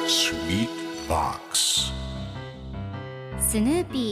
Sweet Box スヌーピ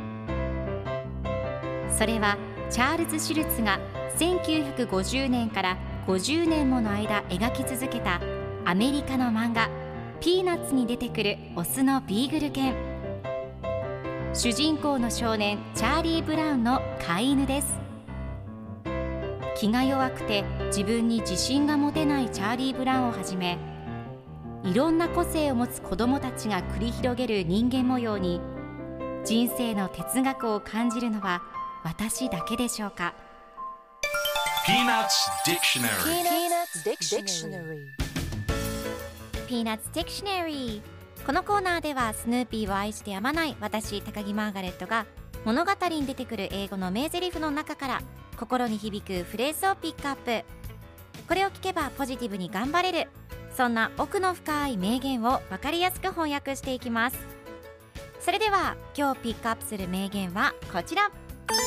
ー。それはチャールズ・シュルツが1950年から50年もの間描き続けたアメリカの漫画ピーナッツに出てくるオスのビーグル犬。主人公の少年チャーリー・ブラウンの飼い犬です。気が弱くて自分に自信が持てないチャーリー・ブラウンをはじめ、いろんな個性を持つ子どもたちが繰り広げる人間模様に人生の哲学を感じるのは私だけでしょうか。 Peanuts Dictionary Peanuts Dictionary。 このコーナーではスヌーピーを愛してやまない私高木マーガレットが物語に出てくる英語の名台詞の中から心に響くフレーズをピックアップ。これを聞けばポジティブに頑張れる、そんな奥の深い名言を分かりやすく翻訳していきます。それでは今日ピックアップする名言はこちら。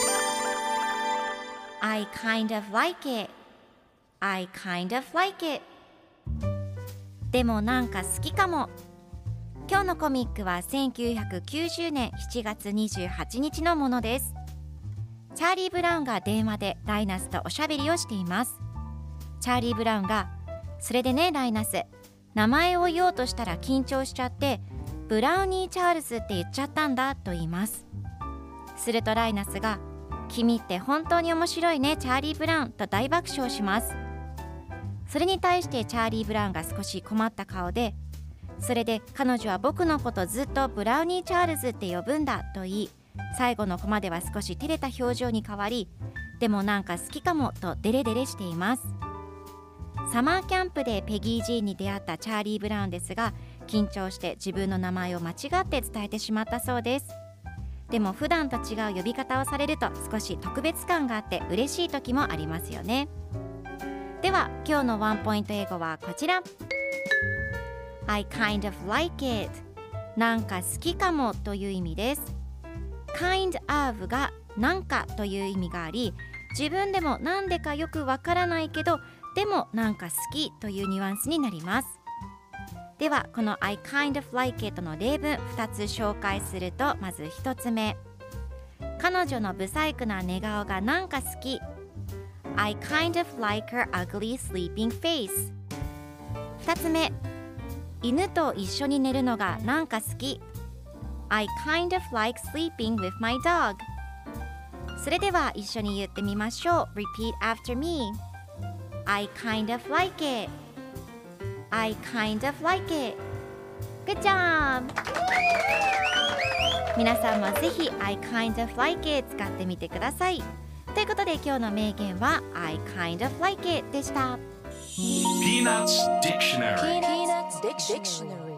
I kind of like it I kind of like it。 でもなんか好きかも。今日のコミックは1990年7月28日のものです。チャーリー・ブラウンが電話でライナスとおしゃべりをしています。チャーリー・ブラウンが、それでねライナス、名前を言おうとしたら緊張しちゃってブラウニー・チャールズって言っちゃったんだと言います。するとライナスが、君って本当に面白いねチャーリー・ブラウンと大爆笑します。それに対してチャーリー・ブラウンが少し困った顔で、それで彼女は僕のことずっとブラウニー・チャールズって呼ぶんだと言い、最後のコマでは少し照れた表情に変わり、でもなんか好きかもとデレデレしています。サマーキャンプでペギー・ジーンに出会ったチャーリー・ブラウンですが、緊張して自分の名前を間違って伝えてしまったそうです。でも普段と違う呼び方をされると少し特別感があって嬉しい時もありますよね。では今日のワンポイント英語はこちら。 I kind of like it。 なんか好きかもという意味です。 kind of がなんかという意味があり、自分でもなんでかよくわからないけどでもなんか好きというニュアンスになります。ではこの I kind of like it の例文2つ紹介すると、まず1つ目、彼女のブサイクな寝顔がなんか好き。 I kind of like her ugly sleeping face。 2つ目、犬と一緒に寝るのがなんか好き。 I kind of like sleeping with my dog。 それでは一緒に言ってみましょう。 Repeat after me。 I kind of like it I kind of like it。 Good job。 皆さんもぜひ I kind of like it 使ってみてください。ということで今日の名言は I kind of like it でした。 Peanuts Dictionary Peanuts Dictionary